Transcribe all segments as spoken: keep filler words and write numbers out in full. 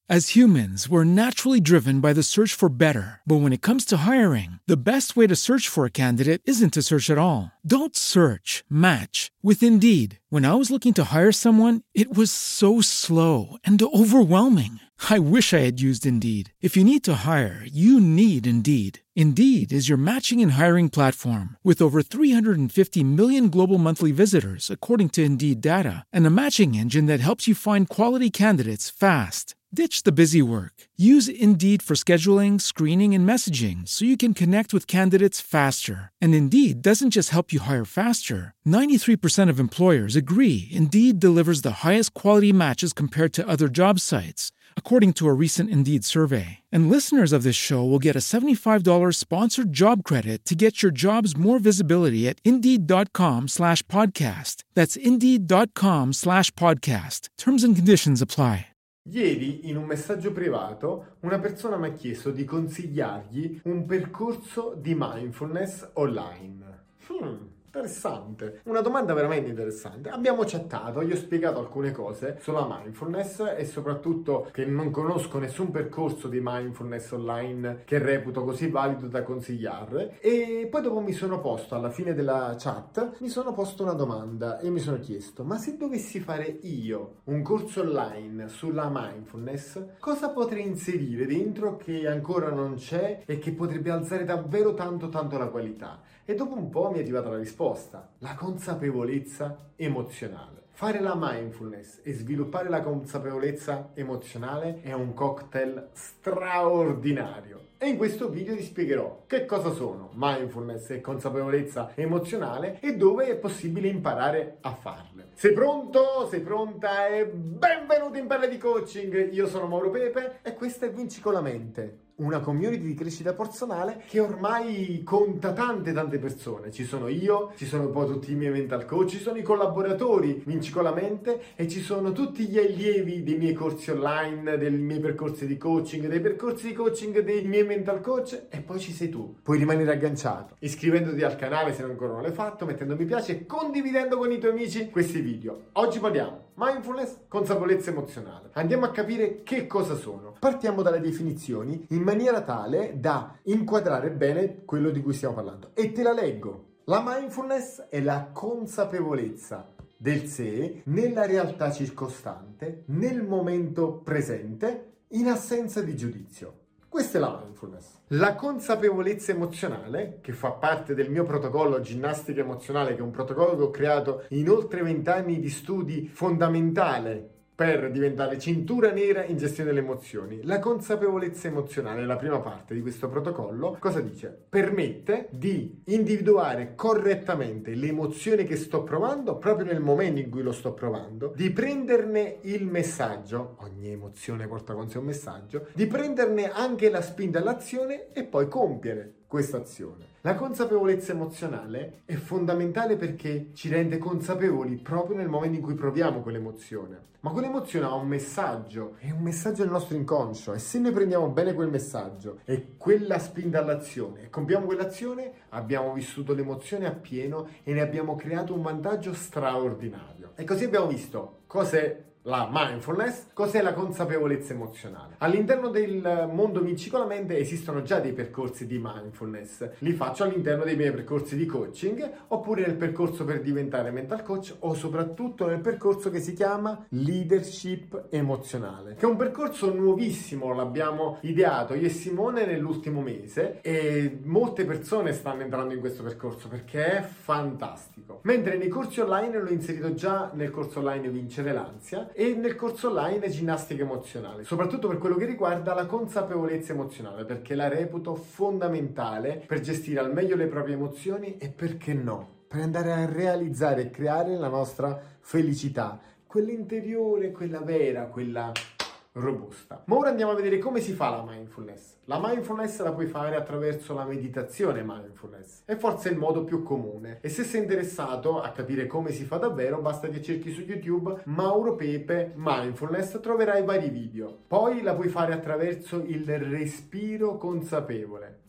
As humans, we're naturally driven by the search for better. But when it comes to hiring, the best way to search for a candidate isn't to search at all. Don't search, match with Indeed. When I was looking to hire someone, it was so slow and overwhelming. I wish I had used Indeed. If you need to hire, you need Indeed. Indeed is your matching and hiring platform with over three hundred fifty million global monthly visitors, according to Indeed data, and a matching engine that helps you find quality candidates fast. Ditch the busy work. Use Indeed for scheduling, screening, and messaging so you can connect with candidates faster. And Indeed doesn't just help you hire faster. ninety-three percent of employers agree Indeed delivers the highest quality matches compared to other job sites, according to a recent Indeed survey. And listeners of this show will get a seventy-five dollars sponsored job credit to get your jobs more visibility at Indeed.com slash podcast. That's Indeed.com slash podcast. Terms and conditions apply. Ieri, in un messaggio privato, una persona mi ha chiesto di consigliargli un percorso di mindfulness online. Hmm, interessante. Una domanda veramente interessante. Abbiamo chattato, gli ho spiegato alcune cose sulla mindfulness e soprattutto che non conosco nessun percorso di mindfulness online che reputo così valido da consigliare. E poi dopo mi sono posto, alla fine della chat, mi sono posto una domanda e mi sono chiesto: ma se dovessi fare io un corso online sulla mindfulness, cosa potrei inserire dentro che ancora non c'è e che potrebbe alzare davvero tanto tanto la qualità? E dopo un po' mi è arrivata la risposta: la consapevolezza emozionale. Fare la mindfulness e sviluppare la consapevolezza emozionale è un cocktail straordinario. E in questo video ti spiegherò che cosa sono mindfulness e consapevolezza emozionale e dove è possibile imparare a farle. Sei pronto? Sei pronta? E benvenuto in Pelle di Coaching! Io sono Mauro Pepe e questa è Vinci con la Mente, una community di crescita personale che ormai conta tante tante persone. Ci sono io, ci sono poi tutti i miei mental coach, ci sono i collaboratori Vinci con la Mente e ci sono tutti gli allievi dei miei corsi online, dei miei percorsi di coaching, dei percorsi di coaching dei miei mental coach, e poi ci sei tu. Puoi rimanere agganciato iscrivendoti al canale se ancora non l'hai fatto, mettendo mi piace e condividendo con i tuoi amici questi video. Oggi parliamo mindfulness, consapevolezza emozionale. Andiamo a capire che cosa sono. Partiamo dalle definizioni in maniera tale da inquadrare bene quello di cui stiamo parlando. E te la leggo. La mindfulness è la consapevolezza del sé nella realtà circostante, nel momento presente, in assenza di giudizio. Questa è la mindfulness. La consapevolezza emozionale, che fa parte del mio protocollo ginnastica emozionale, che è un protocollo che ho creato in oltre vent'anni di studi fondamentale per diventare cintura nera in gestione delle emozioni. La consapevolezza emozionale, la prima parte di questo protocollo, cosa dice? Permette di individuare correttamente l'emozione che sto provando proprio nel momento in cui lo sto provando, di prenderne il messaggio, ogni emozione porta con sé un messaggio, di prenderne anche la spinta all'azione e poi compiere questa azione. La consapevolezza emozionale è fondamentale perché ci rende consapevoli proprio nel momento in cui proviamo quell'emozione. Ma quell'emozione ha un messaggio, è un messaggio del nostro inconscio, e se noi prendiamo bene quel messaggio e quella spinta all'azione e compiamo quell'azione, abbiamo vissuto l'emozione appieno e ne abbiamo creato un vantaggio straordinario. E così abbiamo visto cos'è la mindfulness, cos'è la consapevolezza emozionale. All'interno del mondo Vinci con la Mente esistono già dei percorsi di mindfulness. Li faccio all'interno dei miei percorsi di coaching, oppure nel percorso per diventare mental coach, o soprattutto nel percorso che si chiama leadership emozionale, che è un percorso nuovissimo, l'abbiamo ideato io e Simone nell'ultimo mese e molte persone stanno entrando in questo percorso perché è fantastico. Mentre nei corsi online l'ho inserito già nel corso online Vincere l'ansia e nel corso online ginnastica emozionale, soprattutto per quello che riguarda la consapevolezza emozionale, perché la reputo fondamentale per gestire al meglio le proprie emozioni e, perché no, per andare a realizzare e creare la nostra felicità, quella interiore, quella vera, quella robusta. Ma ora andiamo a vedere come si fa la mindfulness. La mindfulness la puoi fare attraverso la meditazione mindfulness, è forse il modo più comune, e se sei interessato a capire come si fa davvero basta che cerchi su YouTube Mauro Pepe mindfulness, troverai vari video. Poi la puoi fare attraverso il respiro consapevole.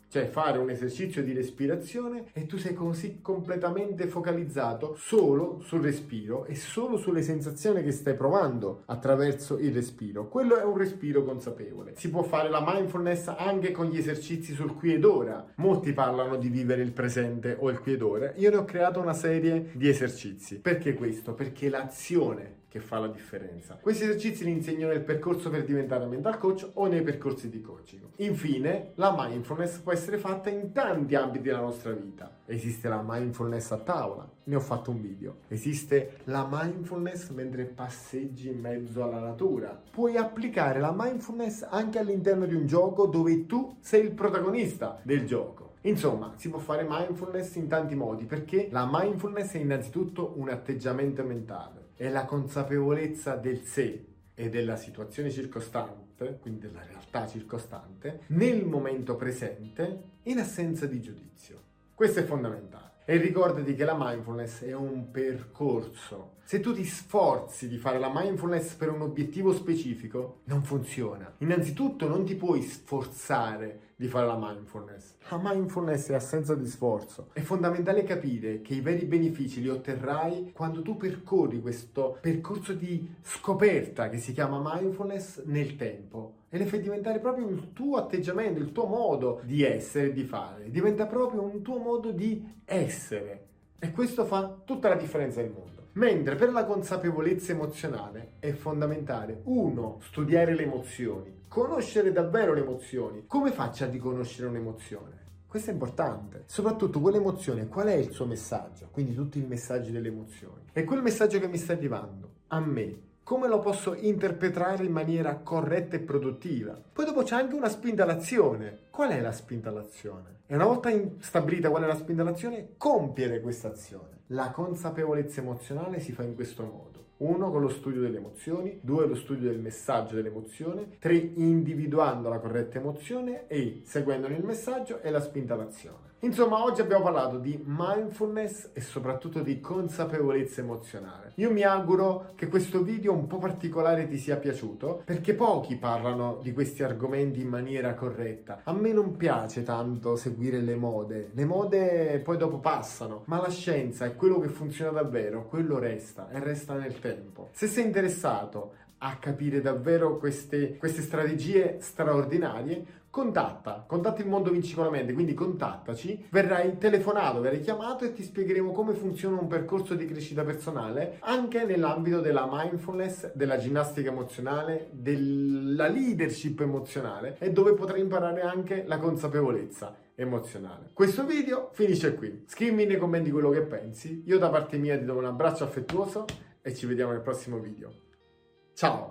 Cioè fare un esercizio di respirazione e tu sei così completamente focalizzato solo sul respiro e solo sulle sensazioni che stai provando attraverso il respiro. Quello è un respiro consapevole. Si può fare la mindfulness anche con gli esercizi sul qui ed ora. Molti parlano di vivere il presente o il qui ed ora. Io ne ho creato una serie di esercizi. Perché questo? Perché l'azione che fa la differenza. Questi esercizi li insegno nel percorso per diventare mental coach o nei percorsi di coaching. Infine, la mindfulness può essere fatta in tanti ambiti della nostra vita. Esiste la mindfulness a tavola, ne ho fatto un video. Esiste la mindfulness mentre passeggi in mezzo alla natura. Puoi applicare la mindfulness anche all'interno di un gioco dove tu sei il protagonista del gioco. Insomma, si può fare mindfulness in tanti modi, perché la mindfulness è innanzitutto un atteggiamento mentale. È la consapevolezza del sé e della situazione circostante, quindi della realtà circostante, nel momento presente, in assenza di giudizio. Questo è fondamentale. E ricordati che la mindfulness è un percorso. Se tu ti sforzi di fare la mindfulness per un obiettivo specifico, non funziona. Innanzitutto non ti puoi sforzare di fare la mindfulness. La mindfulness è assenza di sforzo. È fondamentale capire che i veri benefici li otterrai quando tu percorri questo percorso di scoperta che si chiama mindfulness nel tempo. E le fai diventare proprio il tuo atteggiamento, il tuo modo di essere e di fare. Diventa proprio un tuo modo di essere. E questo fa tutta la differenza del mondo. Mentre per la consapevolezza emozionale è fondamentale, uno, studiare le emozioni, conoscere davvero le emozioni. Come faccio a riconoscere un'emozione? Questo è importante. Soprattutto quell'emozione, qual è il suo messaggio? Quindi tutti i messaggi delle emozioni. E quel messaggio che mi sta arrivando a me, come lo posso interpretare in maniera corretta e produttiva? Poi dopo c'è anche una spinta all'azione. Qual è la spinta all'azione? E una volta stabilita qual è la spinta all'azione, compiere questa azione. La consapevolezza emozionale si fa in questo modo. Uno, con lo studio delle emozioni. Due, lo studio del messaggio dell'emozione. Tre, individuando la corretta emozione. E seguendone il messaggio e la spinta all'azione. Insomma, oggi abbiamo parlato di mindfulness e soprattutto di consapevolezza emozionale. Io mi auguro che questo video un po' particolare ti sia piaciuto, perché pochi parlano di questi argomenti in maniera corretta. A me non piace tanto seguire le mode. Le mode poi dopo passano, ma la scienza è quello che funziona davvero, quello resta e resta nel tempo. Se sei interessato a capire davvero queste, queste strategie straordinarie, contatta, contatta il Mondo Vinci con la Mente, quindi contattaci, verrai telefonato, verrai chiamato e ti spiegheremo come funziona un percorso di crescita personale anche nell'ambito della mindfulness, della ginnastica emozionale, della leadership emozionale e dove potrai imparare anche la consapevolezza emozionale. Questo video finisce qui. Scrivimi nei commenti quello che pensi. Io da parte mia ti do un abbraccio affettuoso e ci vediamo nel prossimo video. Ciao!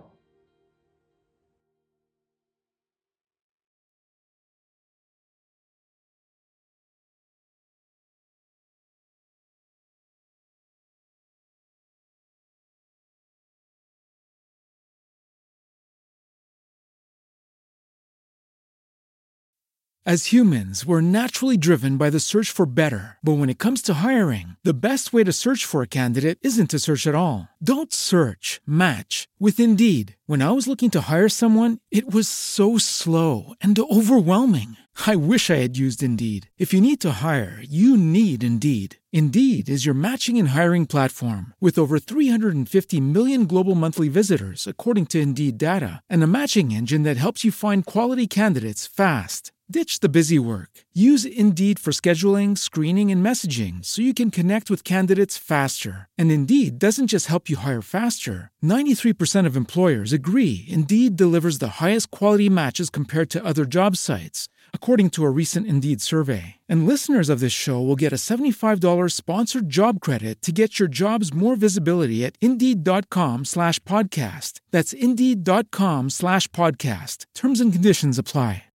As humans, we're naturally driven by the search for better. But when it comes to hiring, the best way to search for a candidate isn't to search at all. Don't search, match with Indeed. When I was looking to hire someone, it was so slow and overwhelming. I wish I had used Indeed. If you need to hire, you need Indeed. Indeed is your matching and hiring platform with over three hundred fifty million global monthly visitors, according to Indeed data, and a matching engine that helps you find quality candidates fast. Ditch the busy work. Use Indeed for scheduling, screening, and messaging so you can connect with candidates faster. And Indeed doesn't just help you hire faster. ninety-three percent of employers agree Indeed delivers the highest quality matches compared to other job sites, according to a recent Indeed survey. And listeners of this show will get a seventy-five dollars sponsored job credit to get your jobs more visibility at Indeed.com slash podcast. That's Indeed.com slash podcast. Terms and conditions apply.